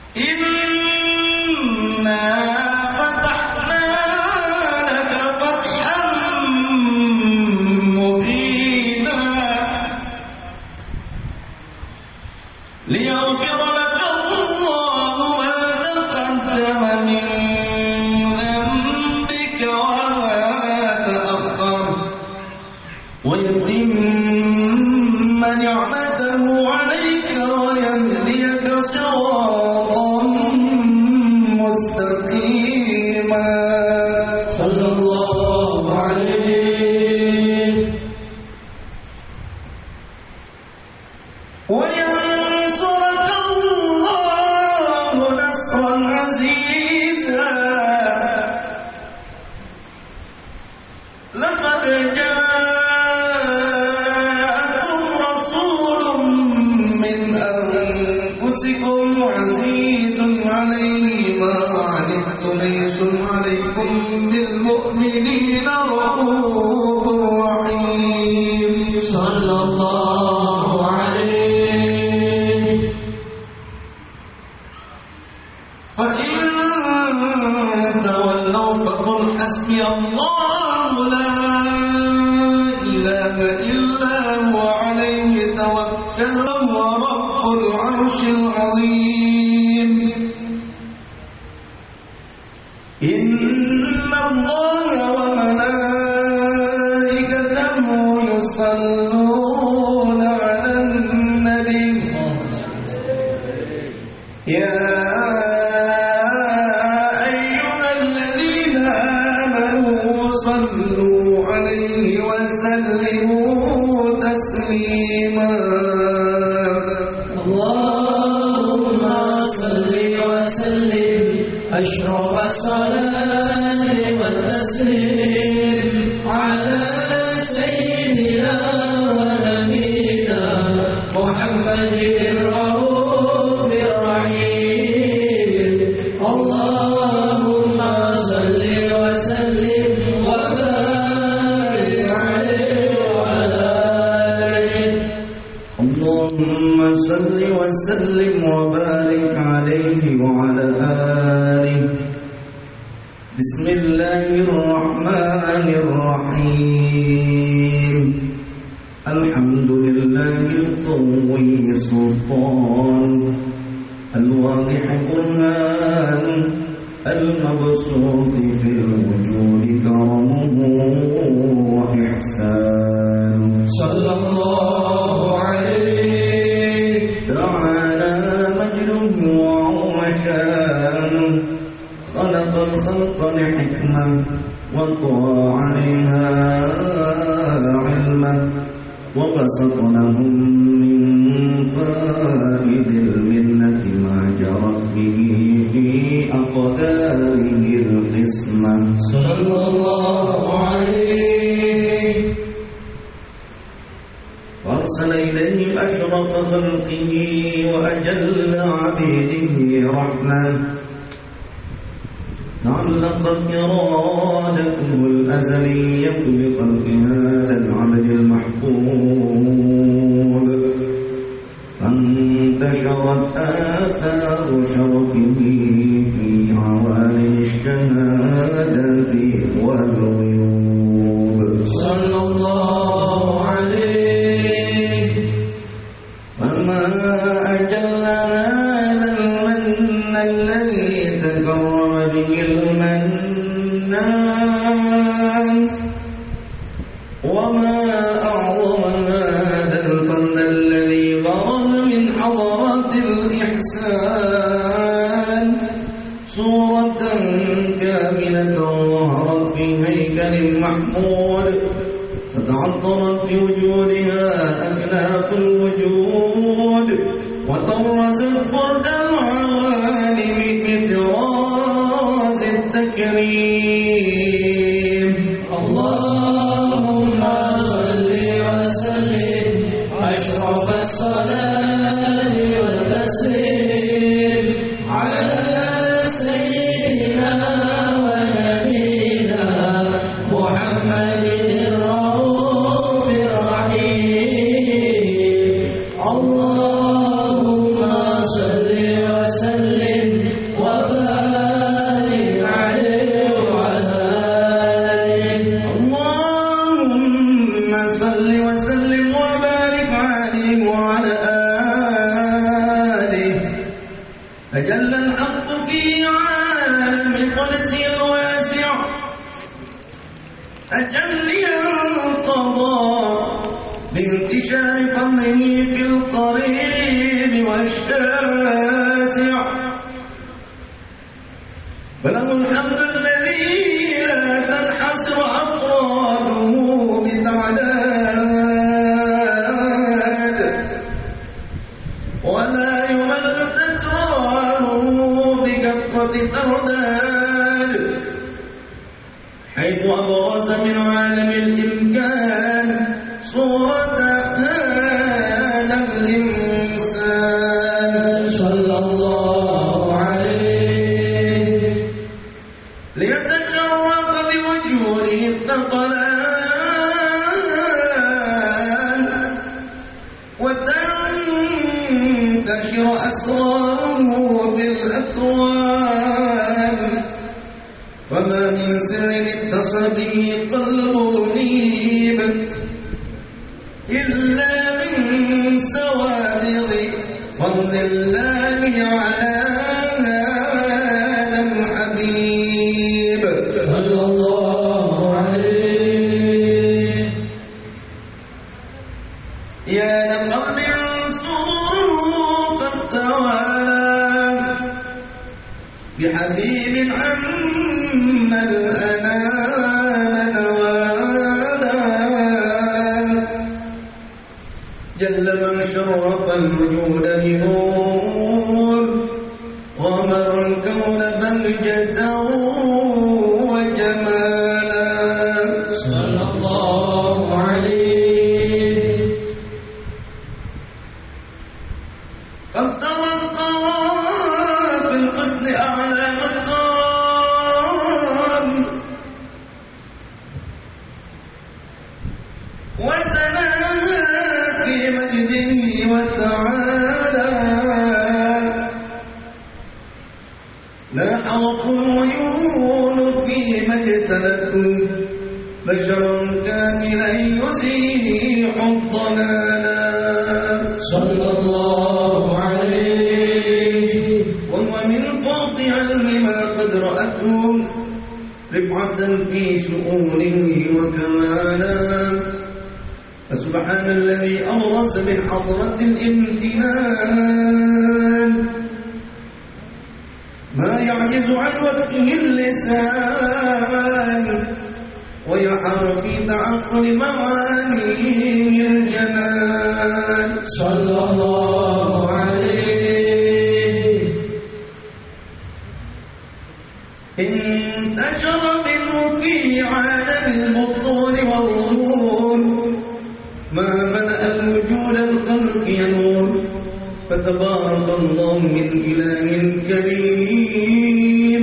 Inna fatahna laka fathan mubina liyaghfira laka Allahu ma taqaddama min dhanbika wa ma ta'akhkhar wa yutimma ni'matahu 'alayka wa yahdiyaka siratan mustaqima. Sallallahu alaihi wa yansuraka Allahu nasran 'aziza. Laqad ja'akum rasulun min anfusikum 'azizun 'alayhi ma 'anittum harisun 'alaykum bil mu'minina ra'ufur rahim. Sallallahu alaihi fa in tawallaw faqul hasbiya Allahu la ilaha illa huwa 'alayhi tawakkaltu wa rabbul 'arshil 'azim. Inna Allaha wa malaikatahu yusalluna 'alan nabi ya ayyuhalladzina amanu sallu 'alaihi wa sallimu taslima. Allahumma salli wa sallim أشرف الصلاة والتسليم على سيدنا ونبينا محمد الرؤوف الرحيم. اللهم صل وسلم وبارك عليه وعلى آله. اللهم صل وسلم وبارك عليه وعلى آله. بسم الله الرحمن الرحيم. الحمد لله القوي السلطان الواضح برهان المبسوط في الوجود كرمه وإحسان. صلى الله عليه تعالى مجده وعوشان خلق الخلق لحكمة وطوى عليها علما وبسط لهم من فائد المنة ما جرت به في أقداره القسمة. صلى الله عليه فأرسل إليهم أشرف خلقه وأجل عبيده رحمة تعلقت إرادته الأزلية بخلق هذا العبد المحبوب فانتشرت آثار شرفه في عوالم الشهادة والغيوب. صلى الله عليه فما أجل هذا المن الذي تكرم به المنان وما أعظم هذا الفضل الذي برز من حضرة الإحسان صورة كاملة ظهرت في هيكل محمود فتعطرت بوجودها أكناف الوجود وطرزت فرد العوالم بطراز التكريم. اللهم صل وسلم أشرف الصلاة والتسليم على سيدنا ونبينا محمد الرؤوف الرحيم. اللهم صل وسلم عليه وعلى آله أجل الحق في عالم قدسه الواسع أجل ينقضى بانتشار فضله في القريب والشاسع فله الحمد الذي لا تنحصر أفراده بتعداد ولا يمل تكراره بكثرة ترداد حيث أبرز من عالم الإمكان صورة هذا الإنسان صلى الله عليه ليتشرف بوجوده الثقلان وتنتشر أسراره في الأكوان فما من سر اتصل به قلب منيب إلا من سوابغ فضل الله على هذا الحبيب صلى الله عليه يا لقلب سروره قد توالى بحبيب عم الأنام نوالا جل من شرف الوجود بنور غمر الكون بهجة وجمالا صلى الله عليه قد ترقى في الحسن أعلى مقام وتناهى في مجده وتعالى لا حوق العيون فيما اجتلته بشر كاملا يزيح الضلالا صلى الله عليه وهو من فوق علم ما قد رأته رفعة في شؤونه وكمالا فسبحان الذي أبرز من حضرة الامتنان ما يعجز عن وصفه اللسان ويحار في تعقل معانيه الجنان صلى الله عليه انتشر منه في عالم البطون والظهور ما ملأ الوجود الخلق ينور فتبارك الله من إله كريم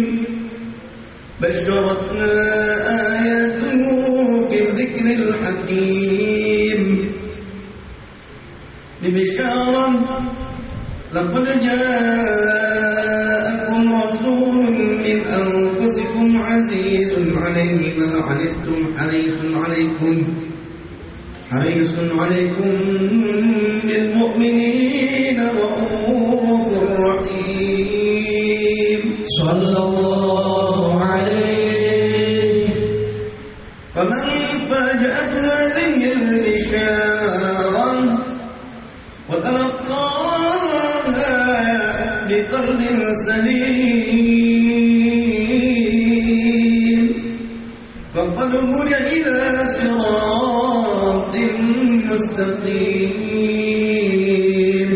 بشرتنا آياته في الذكر الحكيم ببشارة لقد جاءكم رسول من أنفسكم عزيز عليه ما عنتم حريص عليكم بالمؤمنين رؤوف رحيم صلى الله عليه فمن فاجأت هذه البشارة وتلقاها بقلب سليم فقد هدي إلى صراط مستقيم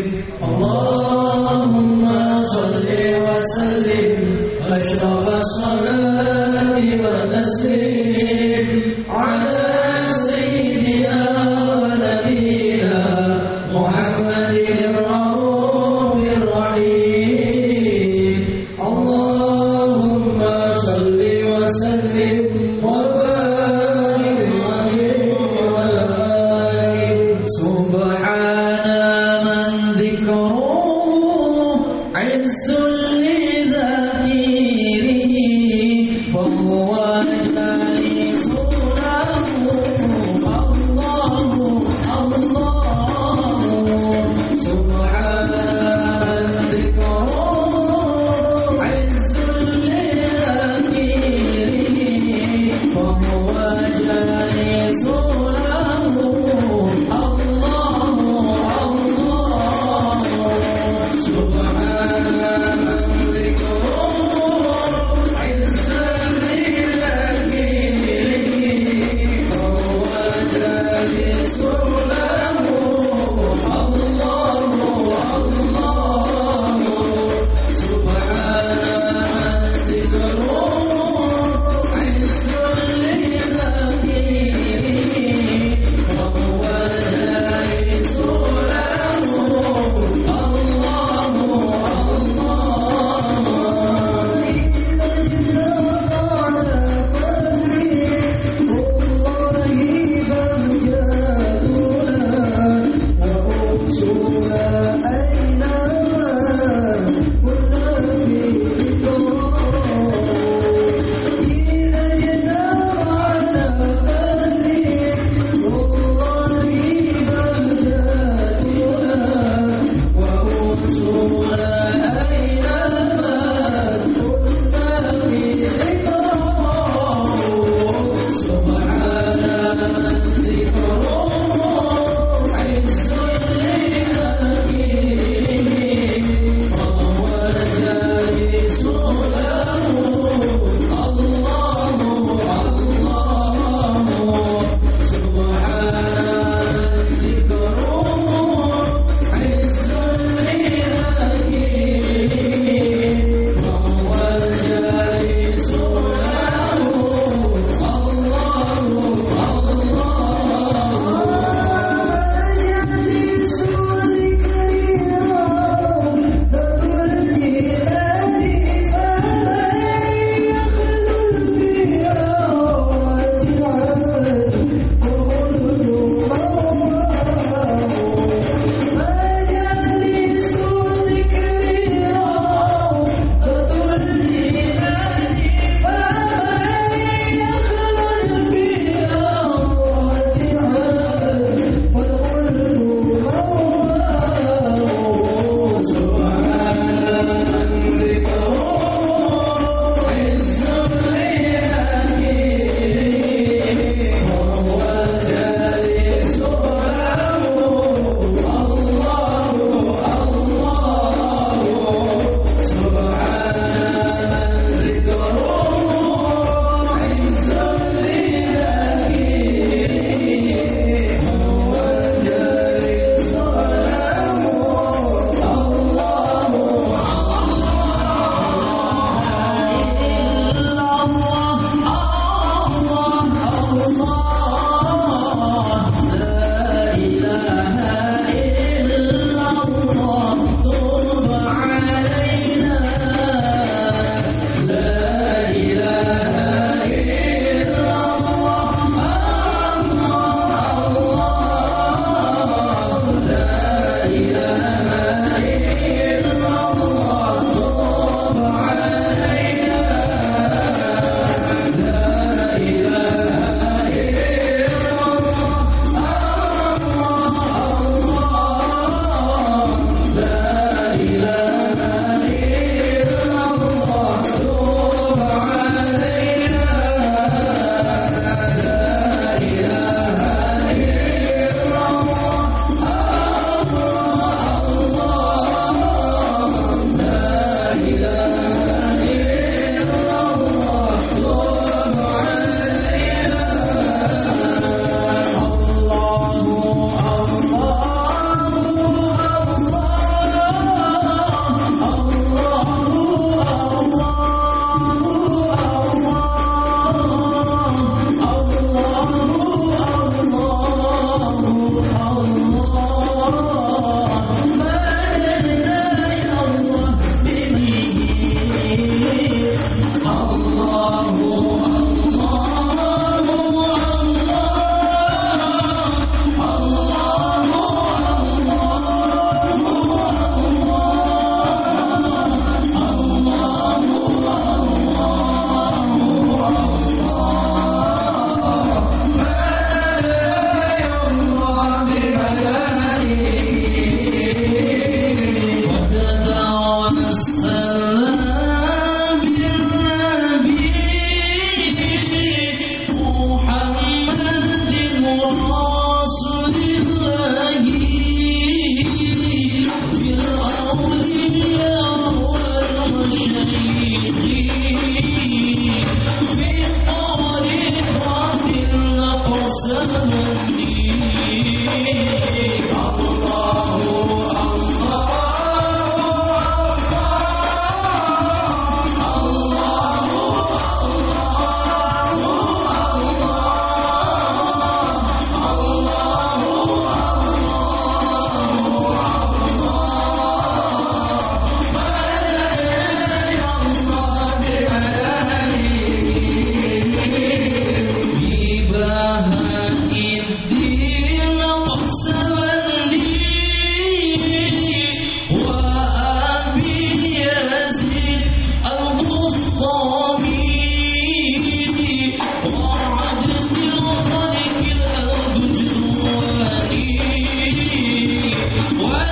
اللهم صل وسلم أشرف الصلاة والتسليم على سيدنا ونبينا محمد الرؤوف الرحيم اللهم صل وسلم وبارك عليه وعلى آله سبحان من ذكره عز لذاكره وهو جالس له الله الله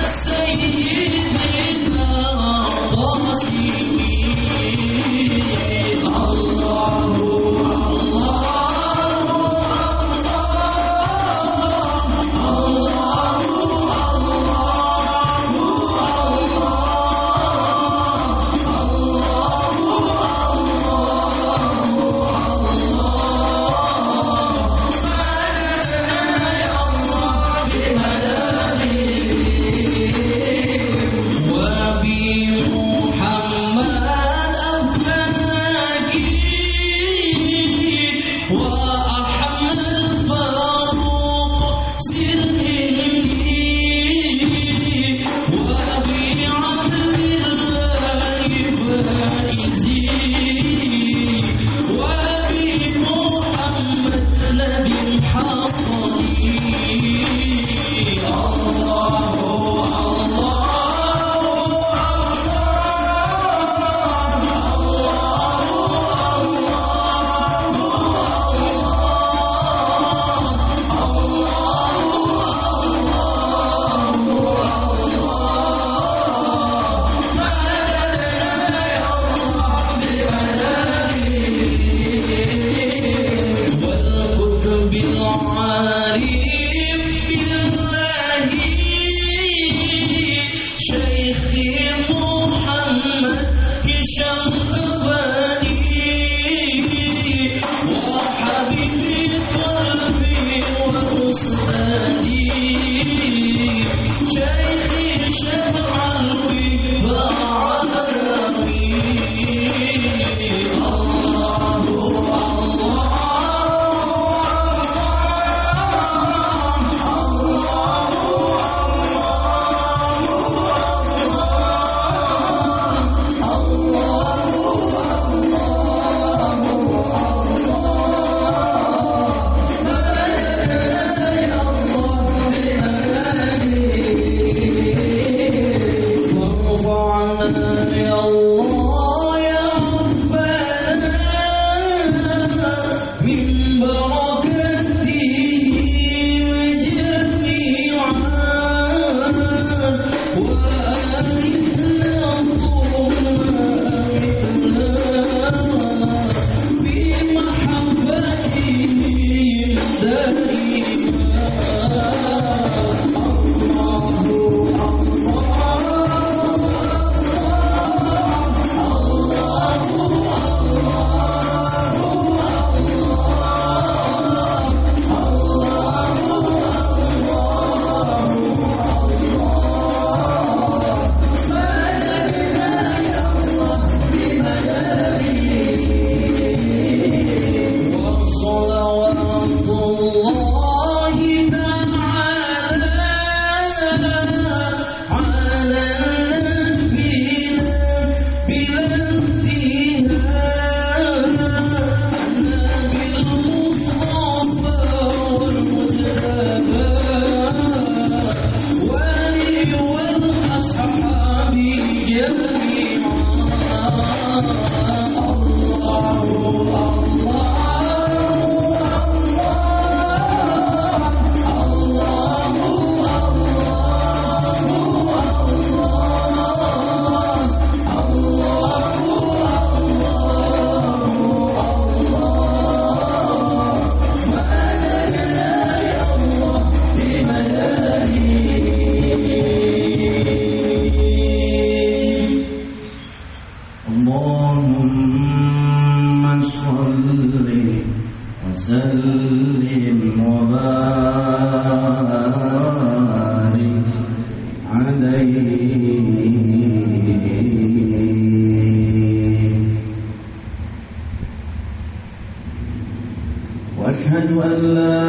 وأشهد أن لا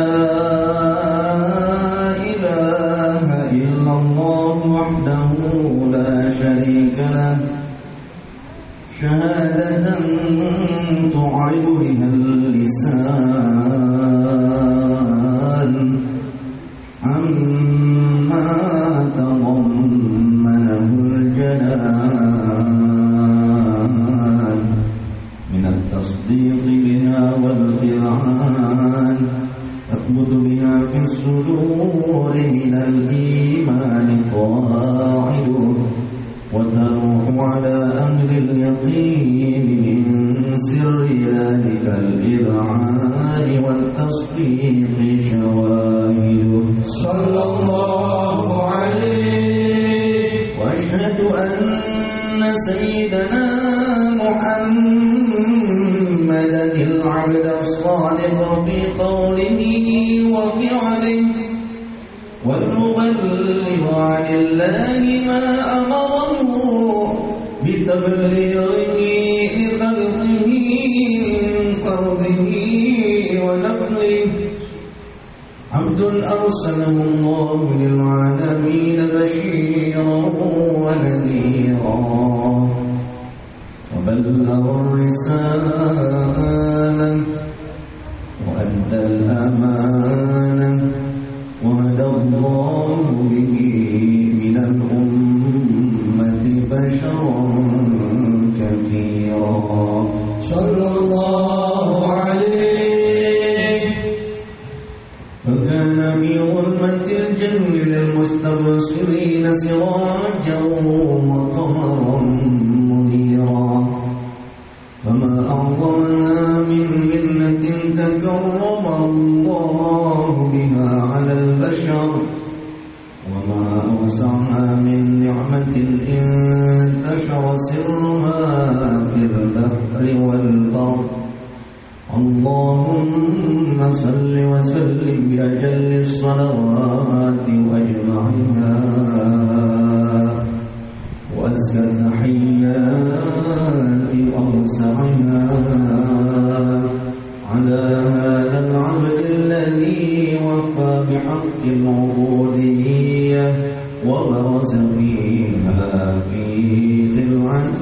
إله إلا الله وحده لا شريك له شهادة تعرب بها اللسان عما تضمنه الجنان من التصديق بها والإذعان تثبت بها في الصدور من الإيمان قائما وتروح على أهل اليقين من سر ذلك الإذعان والتصديق شواهد صلى الله عليه. وأشهد أن سيدنا محمدا العبد الصادق في قوله وفعله والمبلغ عن الله ما أمره بتبليغه لخلقه من فرضه ونفله، عبد أرسله الله للعالمين بشيرا ونذيرا، وبلغ الرسالة وأدى الأمانة، وهدى الله به من الأمة بشرا كثيرا صلى الله عليه. فكان في ظلمة الجهل للمستبصرين سراجا وقمرا منيرا، فما أعظمها من منة تكرم الله بها على البشر، وما أوسعها من نعمة انتشر سرها في البحر والبر. اللهم صل وسلم بأجل الصلوات وأجمعها وأزكى التحيات وأوسعها على هذا العبد الذي وفى بحق العبودية وبرز فيها في خلعة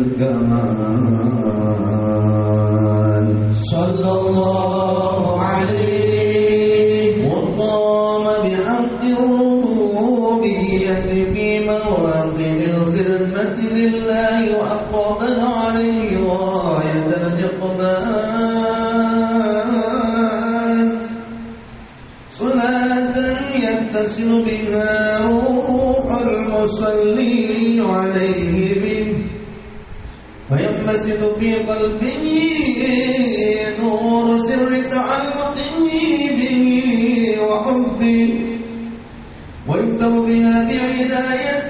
الكمال صلى الله عليه. وقام بحق الربوبية في مواطن الخدمة لله، وأقبل عليه غاية الإقبال، صلاة يتصل بها روح المصلي عليه به، فينبسط في قلبه نور سر تعلقه به وحبه، ويكتب بها بعناية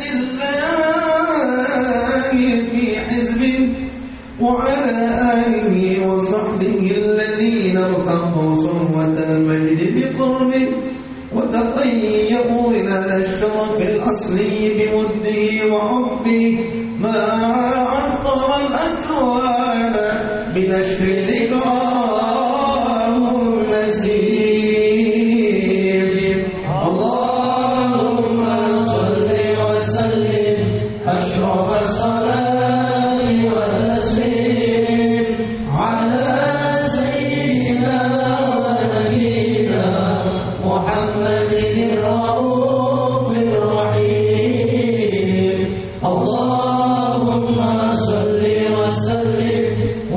الله في حزبه، وعلى آله وصحبه الذين ارتقوا صهوة المجد بقربه، وتطيبوا ظلال الشرف الأصلي بوده وحبه، ما عطر الأكوان بنشر ذكراه النسيم. اللهم صل وسلم أشرف الصلاة والتسليم على سيدنا ونبينا محمد الرؤوف الرحيم. اللهم صل وسلم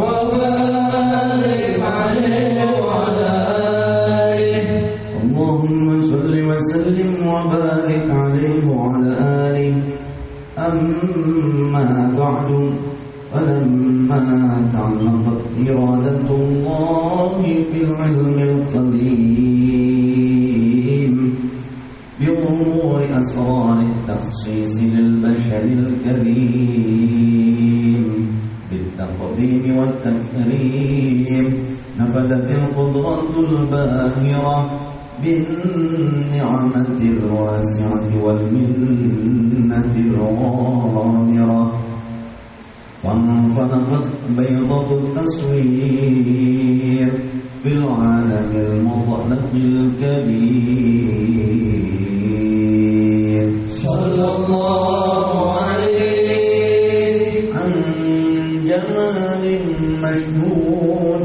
وبارك عليه وعلى آله. اللهم صل وسلم وبارك عليه وعلى آله. أما بعد، فلما تعلقت إرادة الله في العلم القديم بظهور أسرار التخصيص للبشر الكريم بالتقديم والتكريم، نفذت القدرة الباهرة بالنعمة الواسعة والمنة الغامرة، فانفلقت بيضة التصوير في العالم المطلق الكبير صلى الله عليه. عن جمال مشهود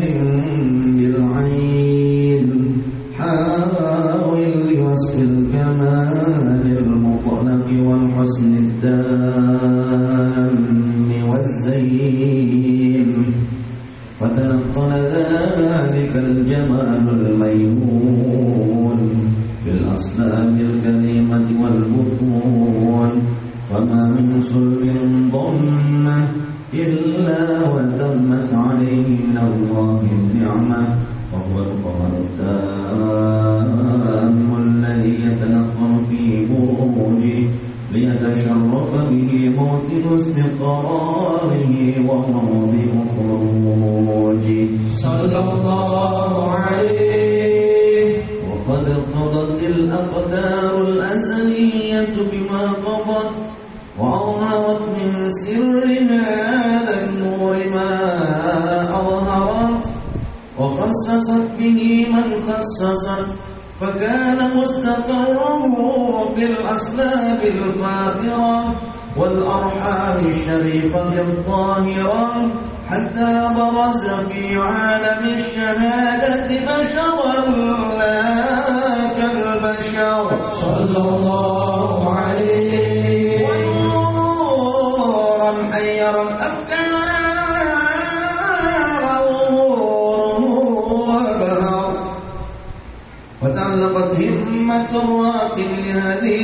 بالعين، حاول لوصف الكمال المطلق والحسن التام والزين، فتنقل ذلك الجمال الميمون بالأصلاب الكريمة والبطون، وما من صلب ضمه إلا وتمت عليه من الله النعمة، وهو القمر التام الذي يتنقل في بروجه ليتشرف به موطن استقراره وموضع خروجه صلى الله عليه. وقد قضت الأقدار الأزلية بما قضت، وأظهرت من سر هذا النور ما أظهرت، وخصصت به من خصصت، فكان مستقره في الأصلاب الفاخرة والأرحام الشريفة الطاهرة، حتى برز في عالم الشهادة بشرا لا كالبشر صلى الله عليه. ونورا حير الأفكار وبهر، فتعلقت همة الراقب لهذه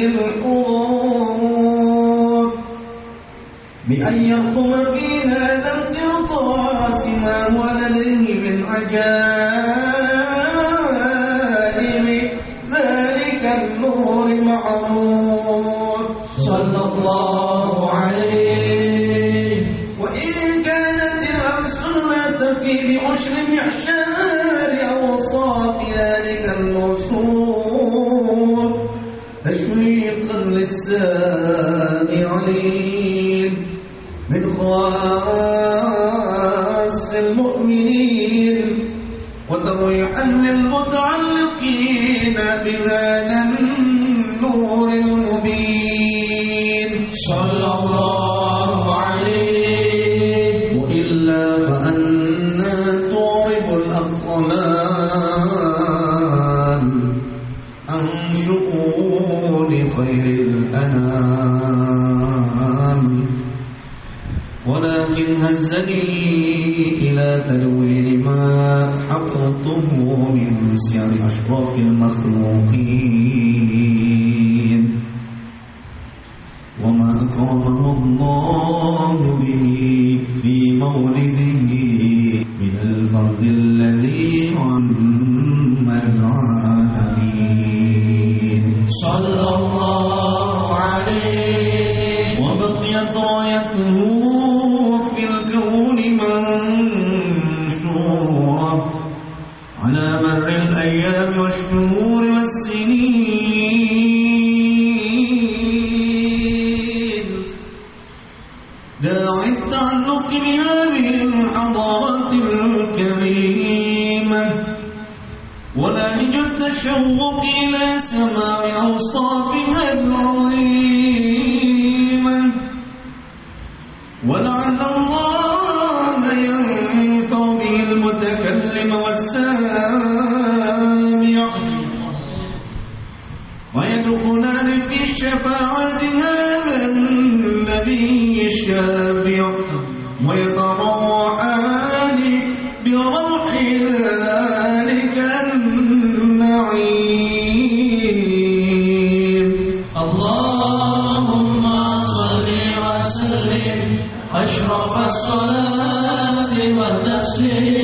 الحروب بأن يرقم في هذا القرطاس ما هو لديه من عجائب ذلك النور معروف صلى الله عليه. وإن كانت السنة في بعشر معشار أوصاف ذلك الموصوف تشويقا للسامعين من خواص المؤمنين، وترويحا للمتعلقين بهذا النور المبين صلى الله عليه. وإلا فأنا تعرب الأقلام عن شؤون خير الأنام، ولكن هزني إلى تدوين ما حفظته من سير أشراف المخلوقين، وما أكرمه الله به في مولده من الفرد الذي عم العالمين صلى الله عليه. وبقيت رايته في الكون منشورة على مر الأيام والشهور والسنين، داعي التعلق بهذه الحضارة الكريمة، ونهج التشوق إلى سماع أوصافها العظيمة، ولعل الله ينفع به المتكلم والسامع، ويدخلان في شفاعة هذا النبي الشافع، ويتروحان بروح ذلك النعيم. اللهم صل وسلم أشرف الصلاة والتسليم